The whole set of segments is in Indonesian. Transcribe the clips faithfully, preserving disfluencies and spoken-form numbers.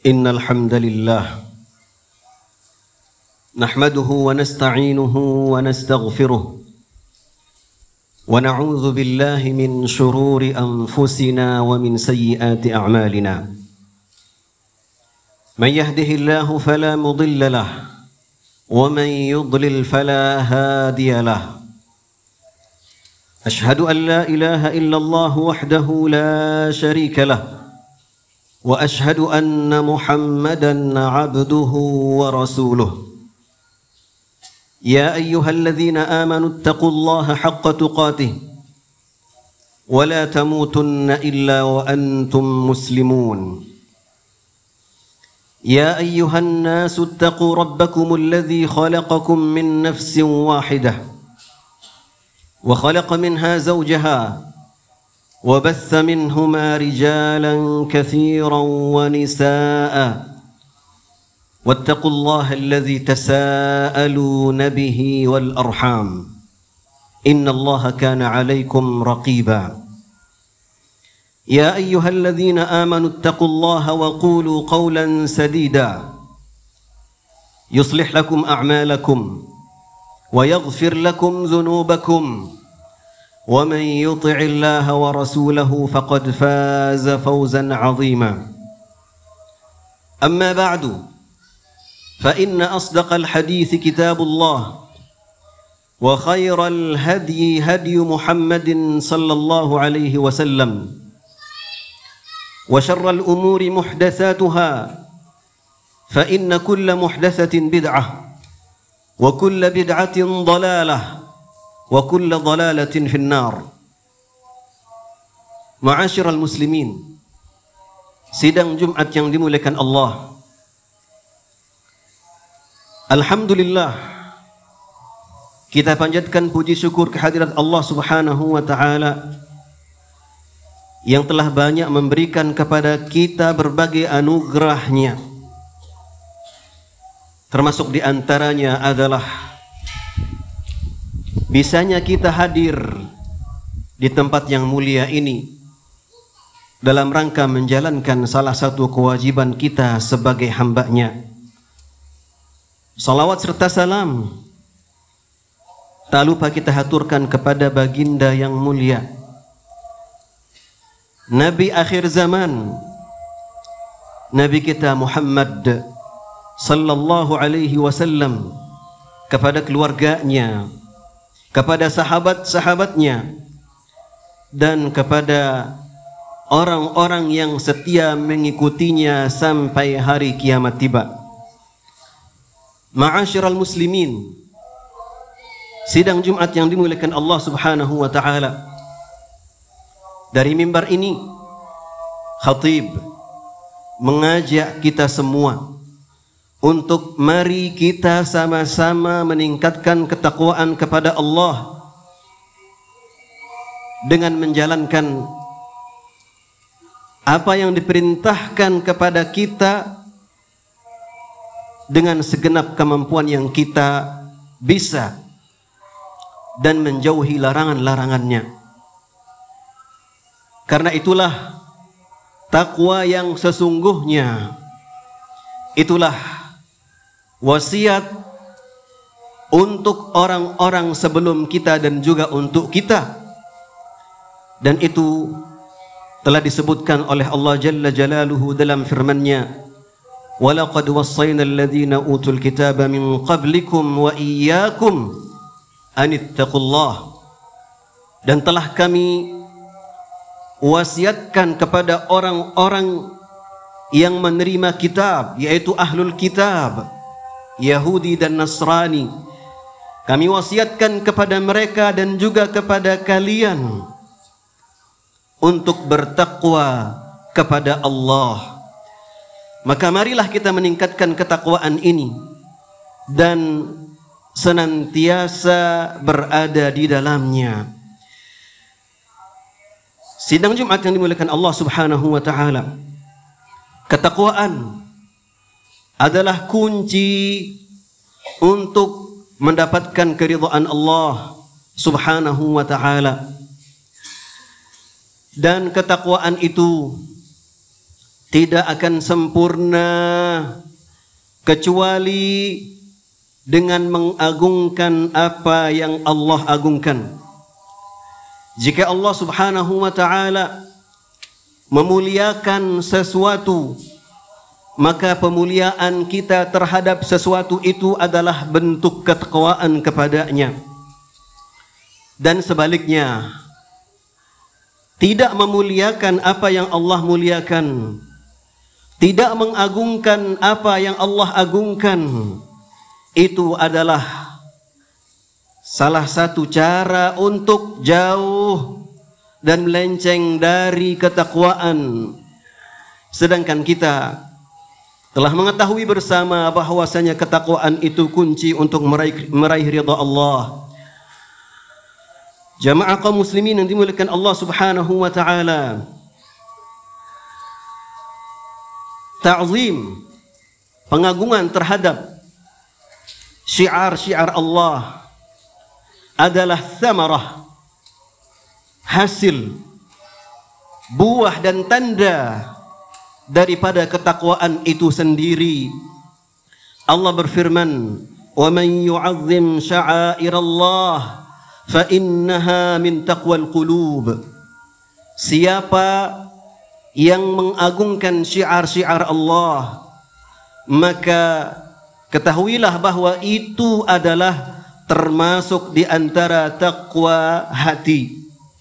إن الحمد لله نحمده ونستعينه ونستغفره ونعوذ بالله من شرور أنفسنا ومن سيئات أعمالنا من يهده الله فلا مضل له ومن يضلل فلا هادي له أشهد أن لا إله إلا الله وحده لا شريك له وأشهد أن محمدًا عبده ورسوله يا أيها الذين آمنوا اتقوا الله حق تقاته ولا تموتن إلا وأنتم مسلمون يا أيها الناس اتقوا ربكم الذي خلقكم من نفس واحدة وخلق منها زوجها وبث منهما رجالا كثيرا ونساء واتقوا الله الذي تساءلون به والأرحام إن الله كان عليكم رقيبا يا أيها الذين آمنوا اتقوا الله وقولوا قولا سديدا يصلح لكم أعمالكم ويغفر لكم ذنوبكم ومن يطع الله ورسوله فقد فاز فوزا عظيما أما بعد فإن أصدق الحديث كتاب الله وخير الهدي هدي محمد صلى الله عليه وسلم وشر الأمور محدثاتها فإن كل محدثة بدعة وكل بدعة ضلالة wa kullu dhalalatin finnar. Ma'asyiral muslimin, sidang Jumat yang dimuliakan Allah, alhamdulillah kita panjatkan puji syukur kehadirat Allah Subhanahu wa taala yang telah banyak memberikan kepada kita berbagai anugerahnya. Termasuk di antaranya adalah bisanya kita hadir di tempat yang mulia ini dalam rangka menjalankan salah satu kewajiban kita sebagai hamba-Nya. Salawat serta salam tak lupa kita haturkan kepada baginda yang mulia, Nabi akhir zaman, Nabi kita Muhammad sallallahu alaihi wasallam, kepada keluarganya, kepada sahabat-sahabatnya, dan kepada orang-orang yang setia mengikutinya sampai hari kiamat tiba. Ma'asyiral muslimin, sidang Jumat yang dimuliakan Allah Subhanahu wa taala, dari mimbar ini khatib mengajak kita semua untuk mari kita sama-sama meningkatkan ketakwaan kepada Allah dengan menjalankan apa yang diperintahkan kepada kita dengan segenap kemampuan yang kita bisa dan menjauhi larangan-larangannya. Karena itulah takwa yang sesungguhnya, itulah wasiat untuk orang-orang sebelum kita dan juga untuk kita. Dan itu telah disebutkan oleh Allah Jalla Jalaluhu dalam firman-Nya, وَلَقَدْ وَصَّيْنَا الَّذِينَ أُوتُوا الْكِتَابَ مِنْ قَبْلِكُمْ وَإِيَّاكُمْ أَنِ اتَّقُوا اللَّهَ. Dan telah kami wasiatkan kepada orang-orang yang menerima kitab, yaitu ahlul kitab, Yahudi dan Nasrani. Kami wasiatkan kepada mereka dan juga kepada kalian untuk bertakwa kepada Allah. Maka marilah kita meningkatkan ketakwaan ini dan senantiasa berada di dalamnya. Sidang Jumat yang dimuliakan Allah Subhanahu wa taala, ketakwaan adalah kunci untuk mendapatkan keridhaan Allah Subhanahu wa taala. Dan ketakwaan itu tidak akan sempurna kecuali dengan mengagungkan apa yang Allah agungkan. Jika Allah Subhanahu wa ta'ala memuliakan sesuatu, maka pemuliaan kita terhadap sesuatu itu adalah bentuk ketakwaan kepadanya. Dan sebaliknya, tidak memuliakan apa yang Allah muliakan, tidak mengagungkan apa yang Allah agungkan, itu adalah salah satu cara untuk jauh dan melenceng dari ketakwaan. Sedangkan kita telah mengetahui bersama bahwasanya ketakwaan itu kunci untuk meraih, meraih ridha Allah. Jamaah kaum muslimin yang dimuliakan Allah Subhanahu wa ta'ala, ta'zim, pengagungan terhadap syiar-syiar Allah adalah thamarah, hasil, buah dan tanda daripada ketakwaan itu sendiri. Allah berfirman, "Wa man yu'azzim sya'airallah fa innaha min taqwal qulub." Siapa yang mengagungkan syiar-syiar Allah, maka ketahuilah bahwa itu adalah termasuk di antara taqwa hati.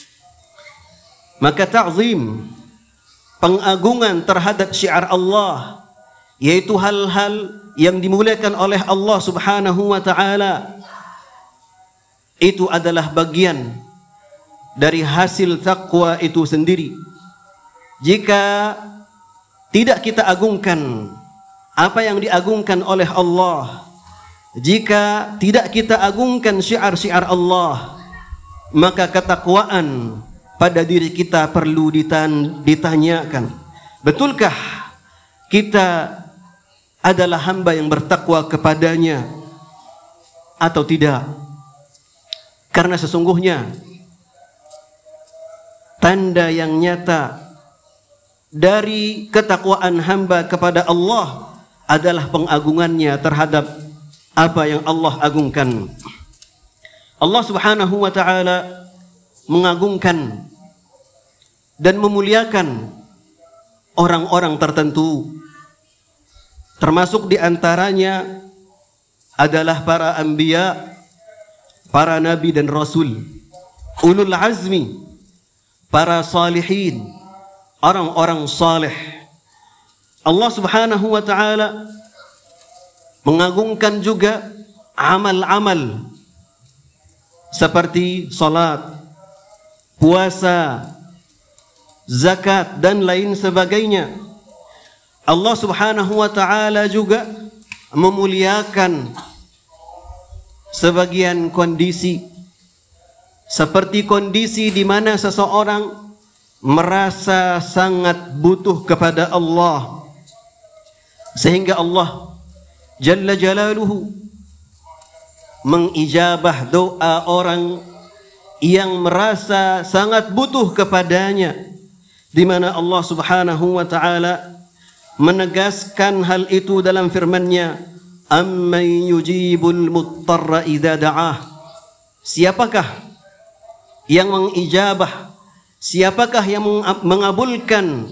Maka ta'zim, pengagungan terhadap syiar Allah, yaitu hal-hal yang dimuliakan oleh Allah Subhanahu wa ta'ala, itu adalah bagian dari hasil taqwa itu sendiri. Jika tidak kita agungkan apa yang diagungkan oleh Allah, jika tidak kita agungkan syiar-syiar Allah, maka ketakwaan pada diri kita perlu ditanyakan. Betulkah kita adalah hamba yang bertakwa kepadanya atau tidak? Karena sesungguhnya tanda yang nyata dari ketakwaan hamba kepada Allah adalah pengagungannya terhadap apa yang Allah agungkan. Allah Subhanahu wa ta'ala mengagungkan dan memuliakan orang-orang tertentu, termasuk di antaranya adalah para anbiya, para nabi dan rasul, ulul azmi, para salihin, orang-orang saleh. Allah Subhanahu wa ta'ala mengagungkan juga amal-amal seperti salat, puasa, zakat dan lain sebagainya. Allah Subhanahu wa ta'ala juga memuliakan sebagian kondisi, seperti kondisi di mana seseorang merasa sangat butuh kepada Allah, sehingga Allah Jalla Jalaluhu mengijabah doa orang yang merasa sangat butuh kepadanya, di mana Allah Subhanahu wa ta'ala menegaskan hal itu dalam firman-Nya, "Amman yujibul muttarra idza da'ah." Siapakah yang mengijabah, siapakah yang mengabulkan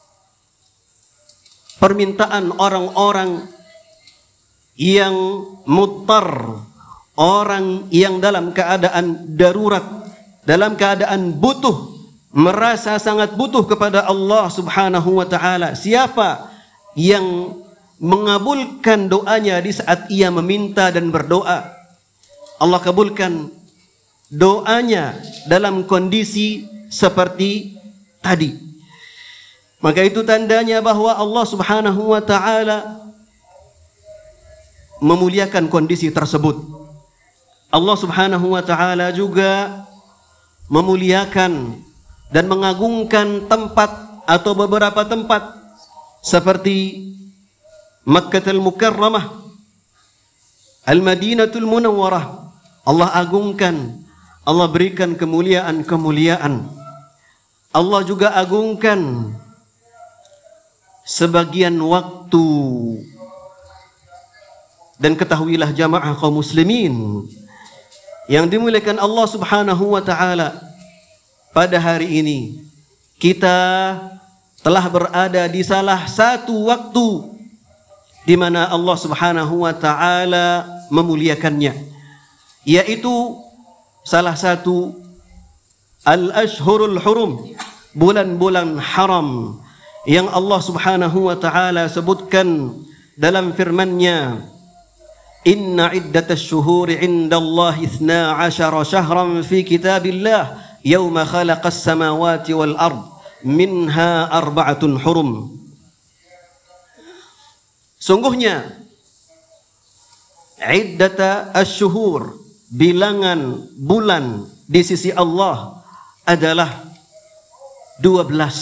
permintaan orang-orang yang muttar, orang yang dalam keadaan darurat, dalam keadaan butuh, merasa sangat butuh kepada Allah Subhanahu wa ta'ala? Siapa yang mengabulkan doanya di saat ia meminta dan berdoa? Allah kabulkan doanya dalam kondisi seperti tadi. Maka itu tandanya bahwa Allah Subhanahu wa ta'ala memuliakan kondisi tersebut. Allah Subhanahu wa ta'ala juga memuliakan dan mengagungkan tempat atau beberapa tempat seperti Makkahul Mukarramah, Al-Madinatul Munawwarah. Allah agungkan, Allah berikan kemuliaan-kemuliaan. Allah juga agungkan sebagian waktu. Dan ketahuilah jamaah kaum muslimin yang dimuliakan Allah Subhanahu wa taala, pada hari ini kita telah berada di salah satu waktu di mana Allah Subhanahu wa taala memuliakannya, yaitu salah satu al-ashhurul hurum, bulan-bulan haram yang Allah Subhanahu wa taala sebutkan dalam firman-Nya, inna iddatasy syuhuri 'indallahi itsna 'asyara syahran fi kitabillah yauma khalaqas samawati wal ard minha arba'atun hurum. Sungguhnya iddata asy-syuhur, bilangan bulan di sisi Allah adalah dua belas.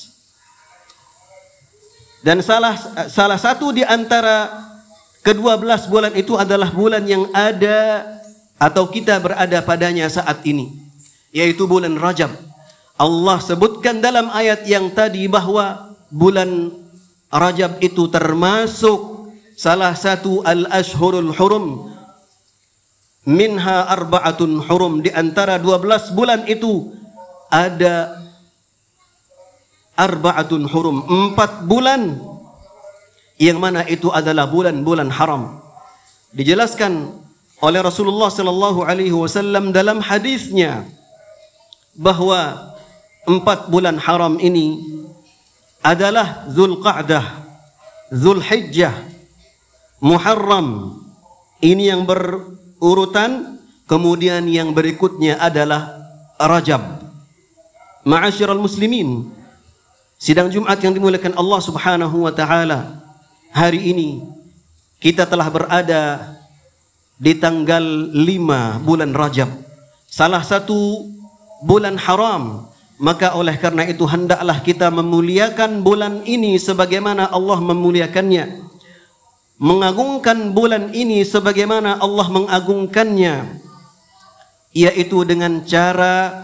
Dan salah salah satu di antara kedua belas bulan itu adalah bulan yang ada atau kita berada padanya saat ini, yaitu bulan Rajab. Allah sebutkan dalam ayat yang tadi bahwa bulan Rajab itu termasuk salah satu al-ashhurul hurum, minha arba'atun hurum, di antara dua belas bulan itu ada arba'atun hurum, empat bulan yang mana itu adalah bulan-bulan haram. Dijelaskan oleh Rasulullah sallallahu alaihi wasallam dalam hadisnya bahwa empat bulan haram ini adalah Zulqa'dah, Zulhijjah, Muharram. Ini yang berurutan, kemudian yang berikutnya adalah Rajab. Ma'asyiral muslimin, sidang Jumat yang dimuliakan Allah Subhanahu wa taala, hari ini kita telah berada di tanggal lima bulan Rajab, salah satu bulan haram. Maka oleh karena itu hendaklah kita memuliakan bulan ini sebagaimana Allah memuliakannya, mengagungkan bulan ini sebagaimana Allah mengagungkannya, yaitu dengan cara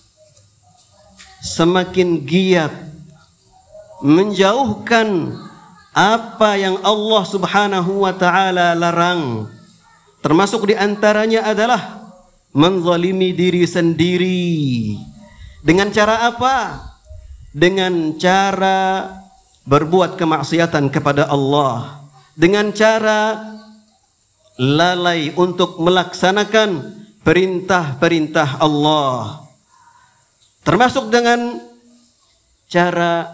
semakin giat menjauhkan apa yang Allah Subhanahu wa taala larang. Termasuk di antaranya adalah menzalimi diri sendiri. Dengan cara apa? Dengan cara berbuat kemaksiatan kepada Allah, dengan cara lalai untuk melaksanakan perintah-perintah Allah, termasuk dengan cara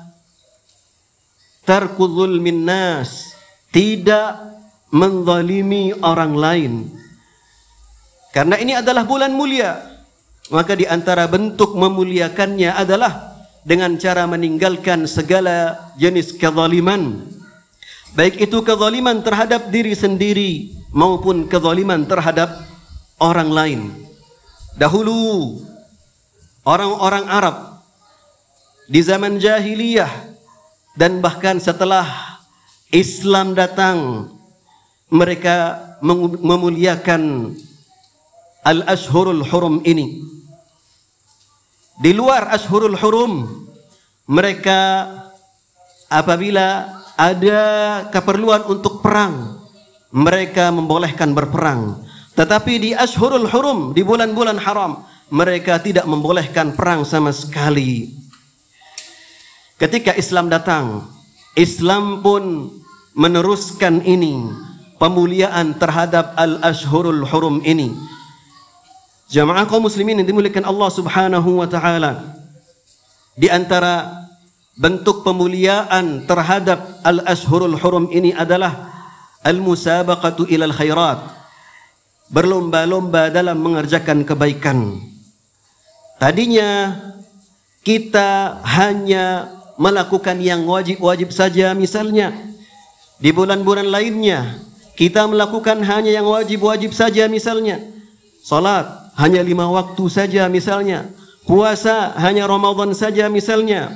tarku zulmin nas, tidak menzalimi orang lain. Karena ini adalah bulan mulia, maka di antara bentuk memuliakannya adalah dengan cara meninggalkan segala jenis kezaliman, baik itu kezaliman terhadap diri sendiri maupun kezaliman terhadap orang lain. Dahulu orang-orang Arab di zaman jahiliyah dan bahkan setelah Islam datang, mereka memuliakan al-ashhurul hurum ini. Di luar ashhurul hurum, mereka apabila ada keperluan untuk perang, mereka membolehkan berperang. Tetapi di ashhurul hurum, di bulan-bulan haram, mereka tidak membolehkan perang sama sekali. Ketika Islam datang, Islam pun meneruskan ini, pemuliaan terhadap al-ashhurul hurum ini. Jamaah kaum muslimin yang dimuliakan Allah Subhanahu wa taala, di antara bentuk pemuliaan terhadap al-ashhurul hurum ini adalah al-musabaqatu ilal khairat, berlomba-lomba dalam mengerjakan kebaikan. Tadinya kita hanya melakukan yang wajib-wajib saja, misalnya di bulan-bulan lainnya kita melakukan hanya yang wajib-wajib saja, misalnya salat hanya lima waktu saja, misalnya puasa hanya Ramadan saja, misalnya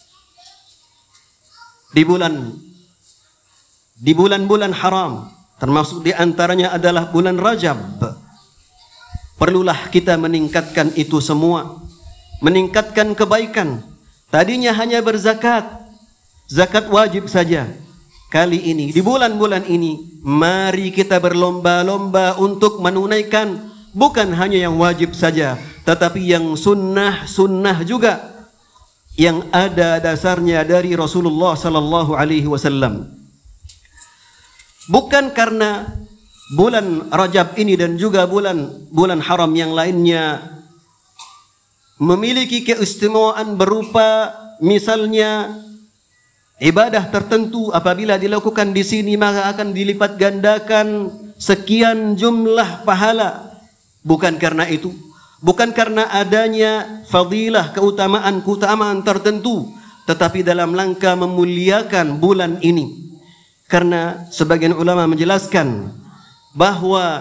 di bulan di bulan-bulan haram, termasuk di antaranya adalah bulan Rajab. Perlulah kita meningkatkan itu semua, meningkatkan kebaikan. Tadinya hanya berzakat, zakat wajib saja. Kali ini, di bulan-bulan ini, mari kita berlomba-lomba untuk menunaikan bukan hanya yang wajib saja, tetapi yang sunnah-sunnah juga, yang ada dasarnya dari Rasulullah sallallahu alaihi wasallam. Bukan karena bulan Rajab ini dan juga bulan bulan haram yang lainnya memiliki keistimewaan berupa misalnya ibadah tertentu apabila dilakukan di sini maka akan dilipat gandakan sekian jumlah pahala. Bukan karena itu, bukan karena adanya fadilah, keutamaan-keutamaan tertentu, tetapi dalam langkah memuliakan bulan ini. Karena sebagian ulama menjelaskan bahwa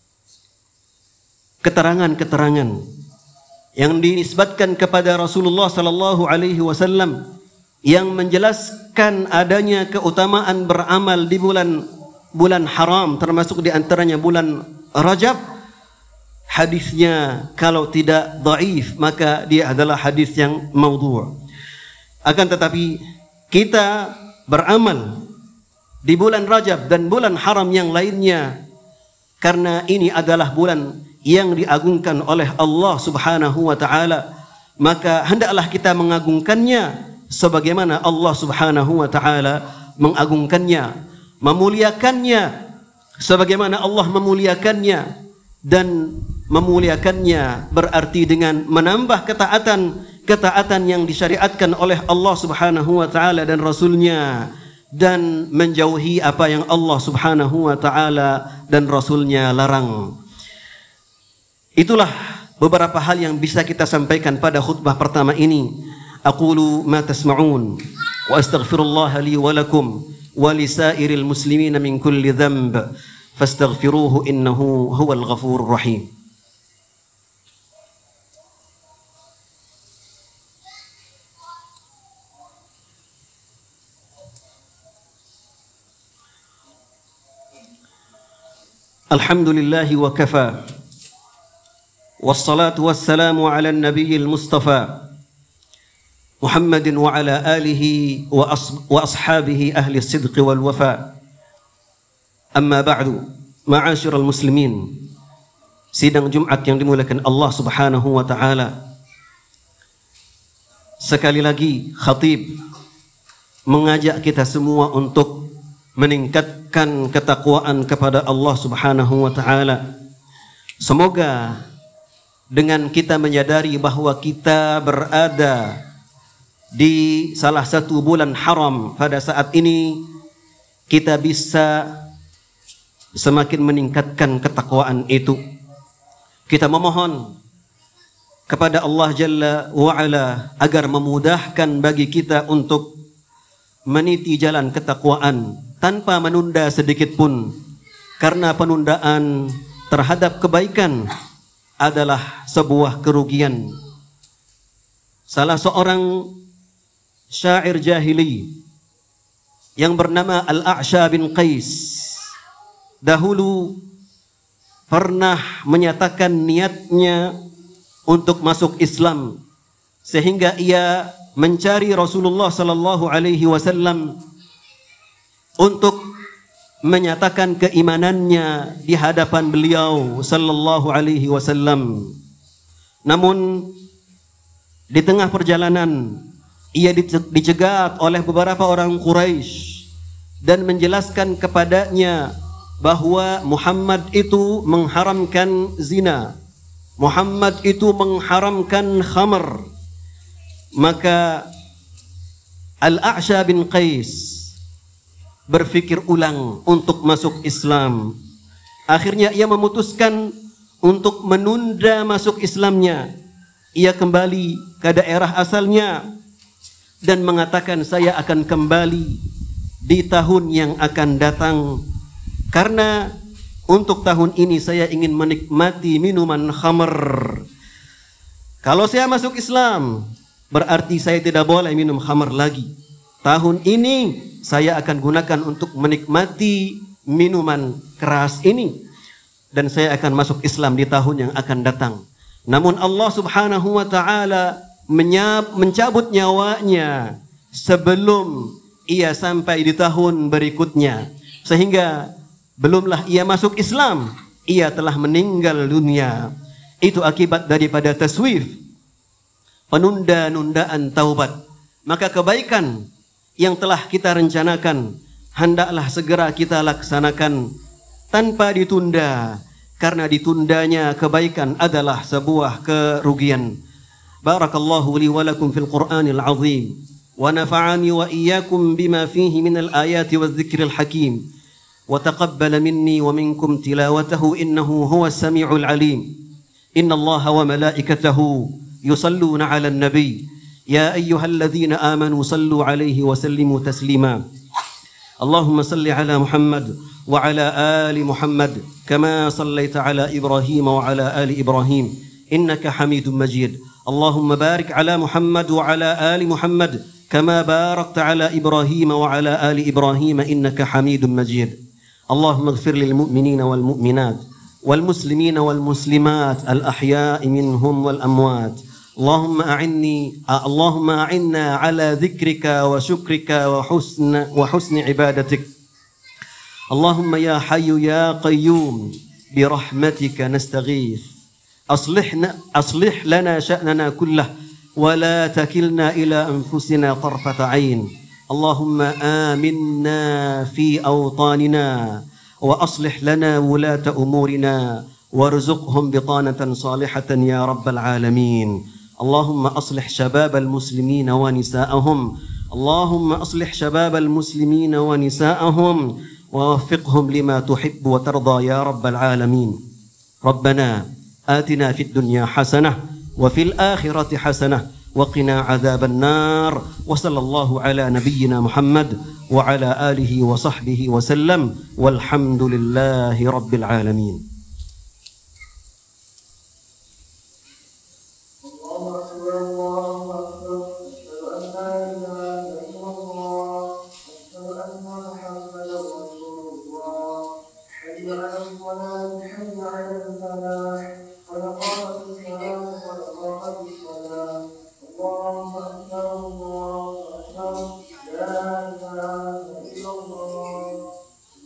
keterangan-keterangan yang dinisbatkan kepada Rasulullah sallallahu alaihi wasallam yang menjelaskan adanya keutamaan beramal di bulan bulan haram, termasuk di antaranya bulan Rajab, hadisnya kalau tidak dhaif maka dia adalah hadis yang maudhu'. Akan tetapi kita beramal di bulan Rajab dan bulan haram yang lainnya karena ini adalah bulan yang diagungkan oleh Allah Subhanahu wa taala, maka hendaklah kita mengagungkannya sebagaimana Allah Subhanahu wa taala mengagungkannya, memuliakannya sebagaimana Allah memuliakannya. Dan memuliakannya berarti dengan menambah ketaatan ketaatan yang disyariatkan oleh Allah Subhanahu wa taala dan Rasulnya, dan menjauhi apa yang Allah Subhanahu wa taala dan Rasulnya larang. Itulah beberapa hal yang bisa kita sampaikan pada khutbah pertama ini. Aqulu ma tasma'un wa astaghfirullah li wa lakum wa lisairil muslimina min kulli dhanb fastaghfiruhu innahu huwal ghafurur rahim. Alhamdulillahi wa kafa, wassalatu wassalamu ala nabiyil mustafa Muhammadin wa ala alihi wa, as wa ashabihi ahli sidqi wal wafa. Amma ba'du, ma'asyiral muslimin, sidang Jumat yang dimuliakan Allah Subhanahu wa taala. Sekali lagi khatib mengajak kita semua untuk meningkatkan ketakwaan kepada Allah Subhanahu wa taala. Semoga dengan kita menyadari bahwa kita berada di salah satu bulan haram pada saat ini, kita bisa semakin meningkatkan ketakwaan itu. Kita memohon kepada Allah Jalla wa'ala agar memudahkan bagi kita untuk meniti jalan ketakwaan tanpa menunda sedikit pun, karena penundaan terhadap kebaikan adalah sebuah kerugian. Salah seorang syair jahili yang bernama Al-A'sha bin Qais dahulu pernah menyatakan niatnya untuk masuk Islam, sehingga ia mencari Rasulullah sallallahu alaihi wasallam untuk menyatakan keimanannya di hadapan beliau sallallahu alaihi wasallam. Namun di tengah perjalanan ia dicegat oleh beberapa orang Quraisy dan menjelaskan kepadanya bahwa Muhammad itu mengharamkan zina, Muhammad itu mengharamkan khamr. Maka Al-A'sha bin Qais berfikir ulang untuk masuk Islam. Akhirnya ia memutuskan untuk menunda masuk Islamnya. Ia kembali ke daerah asalnya dan mengatakan, saya akan kembali di tahun yang akan datang, karena untuk tahun ini saya ingin menikmati minuman khamr. Kalau saya masuk Islam, berarti saya tidak boleh minum khamr lagi. Tahun ini saya akan gunakan untuk menikmati minuman keras ini, dan saya akan masuk Islam di tahun yang akan datang. Namun Allah Subhanahu wa taala mencabut nyawanya sebelum ia sampai di tahun berikutnya. Sehingga belumlah ia masuk Islam, ia telah meninggal dunia. Itu akibat daripada taswif, penunda-nundaan taubat. Maka kebaikan yang telah kita rencanakan hendaklah segera kita laksanakan tanpa ditunda, karena ditundanya kebaikan adalah sebuah kerugian. Barakallahu li wa lakum fil Qur'anil azim wa nafa'ani wa iyyakum bima fihi minal ayati wadh-dhikril hakim wa taqabbala minni wa minkum tilawatahu innahu huwas sami'ul alim. Innallaha wa malaikatahu yusalluna 'alan nabiy ya ayyuhalladzina amanu sallu 'alaihi wa sallimu taslima. اللهم صل على محمد وعلى آل محمد كما صليت على إبراهيم وعلى آل إبراهيم إنك حميد مجيد. اللهم بارك على محمد وعلى آل محمد كما باركت على إبراهيم وعلى آل إبراهيم إنك حميد مجيد. اللهم اغفر للمؤمنين والمؤمنات والمسلمين والمسلمات الأحياء منهم والأموات. اللهم أعني اللهم أعنا على ذكرك وشكرك وحسن وحسن عبادتك. اللهم يا حي يا قيوم برحمتك نستغيث أصلحنا أصلح لنا شأننا كله ولا تكلنا إلى أنفسنا طرفة عين. اللهم آمنا في أوطاننا وأصلح لنا ولاة أمورنا وارزقهم بطانة صالحة يا رب العالمين. اللهم أصلح شباب المسلمين ونساءهم اللهم أصلح شباب المسلمين ونساءهم ووفقهم لما تحب وترضى يا رب العالمين. ربنا آتنا في الدنيا حسنة وفي الآخرة حسنة وقنا عذاب النار. وصلى الله على نبينا محمد وعلى آله وصحبه وسلم والحمد لله رب العالمين.